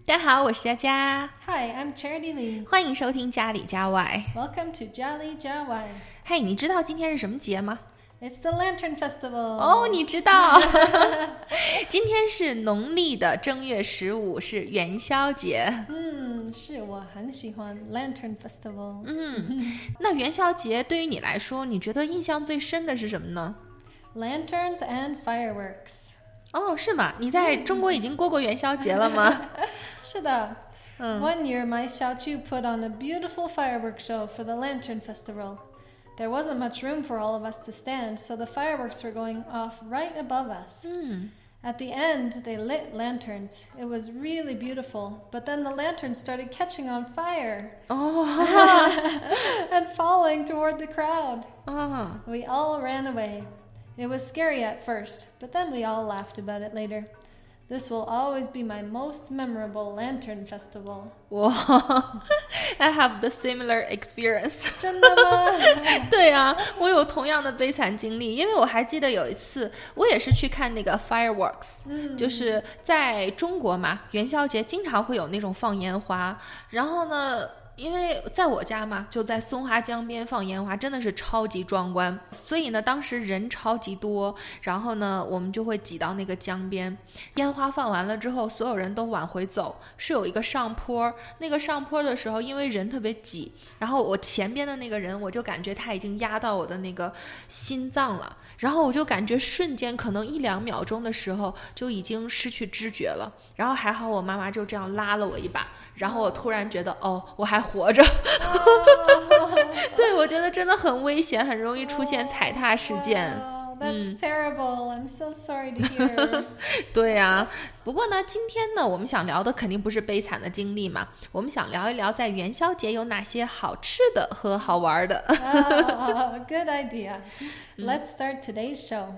大家好，我是佳佳。 Hi, I'm Charity Lee. 欢迎收听家里家外。 Welcome to Jali Jawai. 嘿，你知道今天是什么节吗？ It's the Lantern Festival. 哦，你知道。今天是农历的正月15，是元宵节。 是我很喜欢 Lantern Festival. 那元宵节对于你来说，你觉得印象最深的是什么呢？ Lanterns and fireworks. 哦，是吗？你在中国已经过元宵节了吗？ 是的。One year, my Xiaochu put on a beautiful fireworks show for the Lantern Festival. There wasn't much room for all of us to stand, so the fireworks were going off right above us. At the end, they lit lanterns. It was really beautiful, but then the lanterns started catching on fire and falling toward the crowd. We all ran away. It was scary at first, but then we all laughed about it later. This will always be my most memorable Lantern Festival. Wow, I have the similar experience. 真的吗？ 对啊，我有同样的悲惨经历，因为我还记得有一次，我也是去看那个 fireworks，就是在中国嘛，元宵节经常会有那种放烟花，然后呢，因为在我家嘛，就在松花江边放烟花，真的是超级壮观，所以呢，当时人超级多，然后呢，我们就会挤到那个江边，烟花放完了之后，所有人都往回走，是有一个上坡，那个上坡的时候，因为人特别挤，然后我前边的那个人，我就感觉他已经压到我的那个心脏了，然后我就感觉瞬间可能1-2秒钟的时候就已经失去知觉了，然后还好我妈妈就这样拉了我一把，然后我突然觉得我还活着。对，我觉得真的很危险，很容易出现踩踏事件。 That's terrible. I'm so sorry to hear. 对啊，不过呢，今天呢，我们想聊的肯定不是悲惨的经历嘛，我们想聊一聊在元宵节有哪些好吃的和好玩的。 Good idea. Let's start today's show.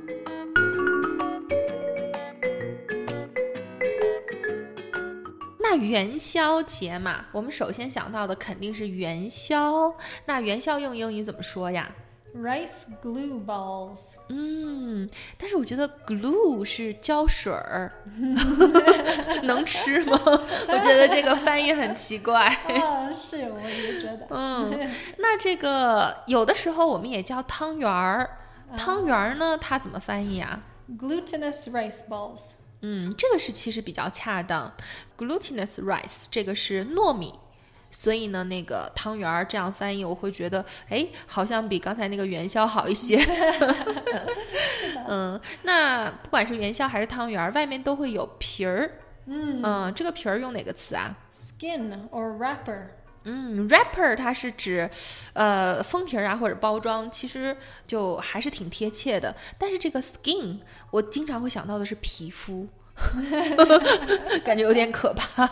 那元宵节嘛，我们首先想到的肯定是元宵。那元宵用英语怎么说呀？ Rice glue balls. 但是我觉得 glue 是胶水儿，能吃吗？我觉得这个翻译很奇怪。 是，我也觉得。 那这个有的时候我们也叫汤圆儿，汤圆儿呢，它怎么翻译啊？ Glutinous rice balls. 这个是其实比较恰当 ，glutinous rice 这个是糯米，所以呢，那个汤圆儿这样翻译，我会觉得，好像比刚才那个元宵好一些。 是的。 那不管是元宵还是汤圆儿，外面都会有皮儿。这个皮儿用哪个词啊？ Skin or wrapper. wrapper 它是指封皮啊或者包装，其实就还是挺贴切的。但是这个 skin 我经常会想到的是皮肤，感觉有点可怕。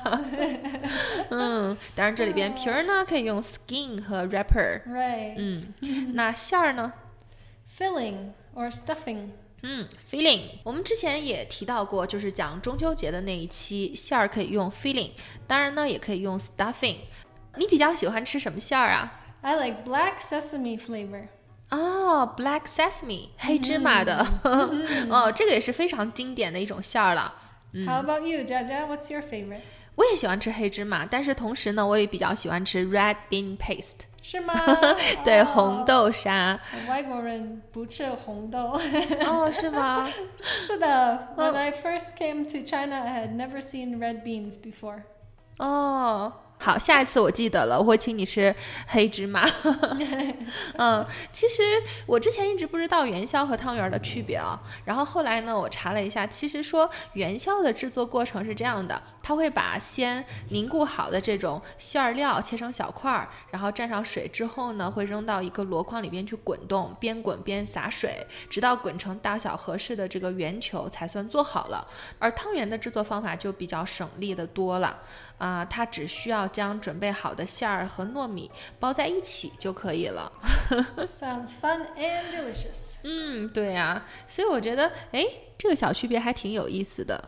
当然这里边皮儿呢可以用 skin 和 wrapper。 Right. 那馅儿呢？ Filling or stuffing. filling 我们之前也提到过，就是讲中秋节的那一期，馅儿可以用 filling， 当然呢也可以用 stuffing。你比较喜欢吃什么馅儿啊？ I like black sesame flavor. Black sesame 黑芝麻的。这个也是非常经典的一种馅儿了。 How about you, Jaja? What's your favorite? 我也喜欢吃黑芝麻，但是同时呢，我也比较喜欢吃 red bean paste。 是吗？ 对，红豆沙。 外国人不吃红豆。 是吗？ 是的。When I first came to China, I had never seen red beans before. 好，下一次我记得了，我会请你吃黑芝麻。其实我之前一直不知道元宵和汤圆的区别啊，然后后来呢，我查了一下，其实说元宵的制作过程是这样的，它会把先凝固好的这种馅料切成小块儿，然后蘸上水之后呢，会扔到一个箩筐里边去滚动，边滚边洒水，直到滚成大小合适的这个圆球才算做好了。而汤圆的制作方法就比较省力的多了。它只需要将准备好的馅儿和糯米包在一起就可以了。 Sounds fun and delicious. 对啊，所以我觉得，这个小区别还挺有意思的。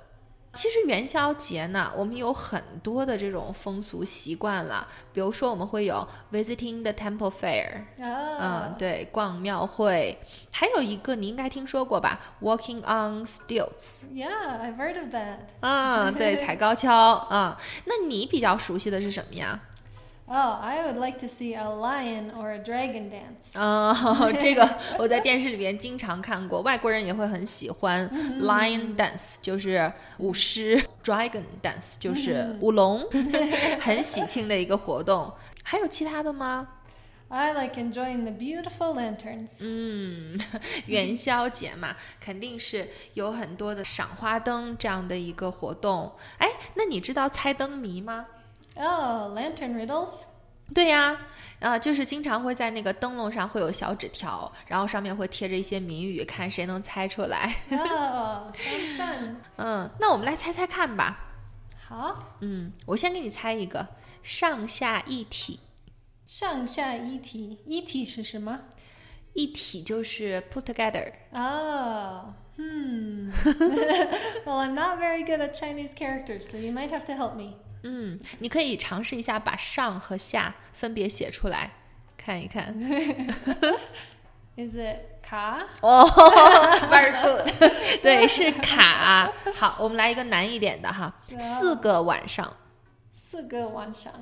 其实元宵节呢，我们有很多的这种风俗习惯了，比如说我们会有 visiting the temple fair，对，逛庙会，还有一个你应该听说过吧 ，walking on stilts。 Yeah, I've heard of that. 对，踩高跷那你比较熟悉的是什么呀？ I would like to see a lion or a dragon dance. 这个我在电视里面经常看过，外国人也会很喜欢。Lion dance 就是舞狮，Dragon dance 就是舞龙，很喜庆的一个活动。还有其他的吗？ I like enjoying the beautiful lanterns. 元宵节嘛，肯定是有很多的赏花灯这样的一个活动。哎，那你知道猜灯谜吗？ Lantern riddles? 对呀，就是经常会在那个灯笼上会有小纸条，然后上面会贴着一些谜语，看谁能猜出来。 Sounds fun. 那我们来猜猜看吧。 好， 我先给你猜一个，上下一体。 上下一体，一体是什么？ 一体就是 put together。 Well, I'm not very good at Chinese characters, so you might have to help me. 你可以尝试一下把上和下分别写出来，看一看。 Is it 卡 ？Very good 。对，是卡。好，我们来一个难一点的哈，4个晚上。 4个晚上，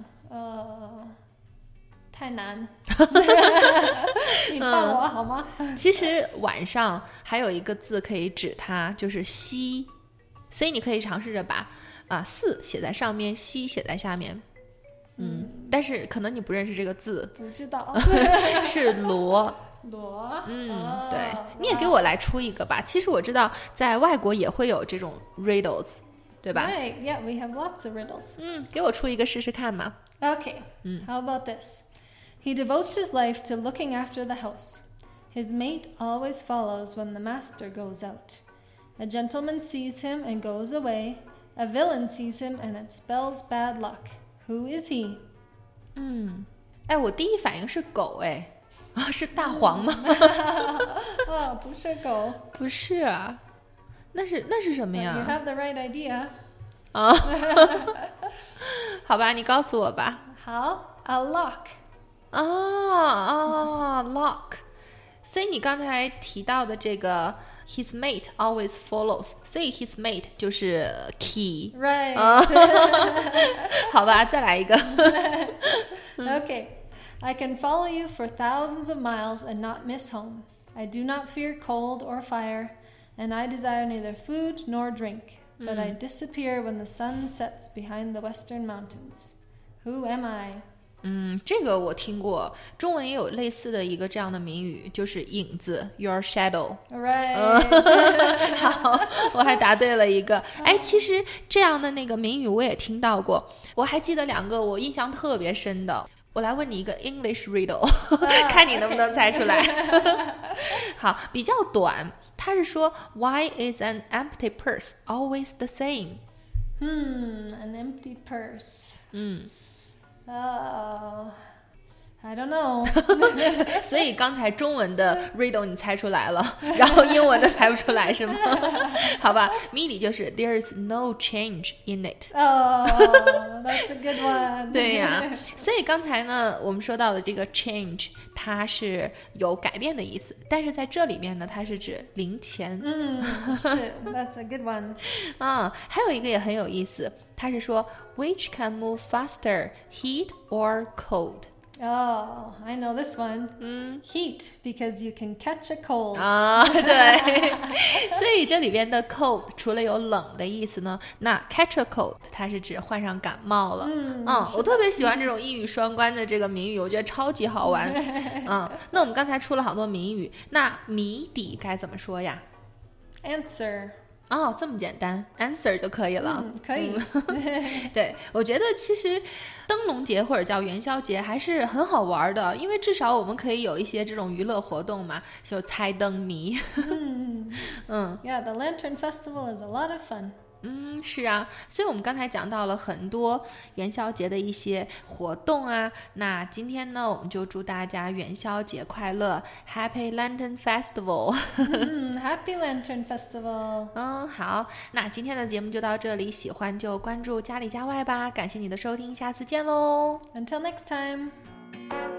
太难。你帮我好吗？ 其实晚上还有一个字可以指它，就是西，所以你可以尝试着把4写在上面，西写在下面。但是可能你不认识这个字。 不知道。 是罗。 罗。 对，你也给我来出一个吧。其实我知道在外国也会有这种 riddles， 对吧？ Right, yeah, we have lots of riddles. 给我出一个试试看嘛。 Okay, how about this? He devotes his life to looking after the house. His mate always follows when the master goes out. A gentleman sees him and goes away. A villain sees him and it spells bad luck. Who is he? 我第一反应是狗，是大黄吗？ 不是狗。 不是啊，那是什么呀？ You have the right idea. 好吧，你告诉我吧。 好 ，a lock. Lock。所以你刚才提到的这个 his mate always follows， 所以 his mate 就是 key。 Right. 好吧，再来一个。 Okay. I can follow you for thousands of miles and not miss home. I do not fear cold or fire, and I desire neither food nor drink, but I disappear when the sun sets behind the western mountains. Who am I? 这个我听过，中文也有类似的一个这样的谜语，就是影子 your shadow。 Right. 好，我还答对了一个。其实这样的那个谜语我也听到过，我还记得2个我印象特别深的。我来问你一个 English riddle， 看你能不能猜出来。好，比较短，它是说 Why is an empty purse always the same？ An empty purse. I don't know. 所以刚才中文的 riddle 你猜出来了，然后英文的猜不出来是吗？好吧，谜底就是 There is no change in it。 That's a good one. 对呀，所以刚才呢我们说到的这个 change 它是有改变的意思，但是在这里面呢它是指零钱。 是 That's a good one. 还有一个也很有意思，它是说 Which can move faster, heat or cold？ I know this one. Heat, because you can catch a cold. 对，所以这里边的 cold 除了有冷的意思呢，那 catch a cold 它是指患上感冒了。我特别喜欢这种一语双关的这个谜语，我觉得超级好玩。那我们刚才出了好多谜语，那谜底该怎么说呀？ Answer. 这么简单 ，answer 就可以了。 可以。 对，我觉得其实灯笼节或者叫元宵节还是很好玩的，因为至少我们可以有一些这种娱乐活动嘛，就猜灯谜。 Yeah, the Lantern Festival is a lot of fun. 是啊，所以我们刚才讲到了很多元宵节的一些活动啊。那今天呢，我们就祝大家元宵节快乐 ，Happy Lantern Festival。 Happy Lantern Festival。 好，那今天的节目就到这里，喜欢就关注家里家外吧。感谢你的收听，下次见喽。 Until next time.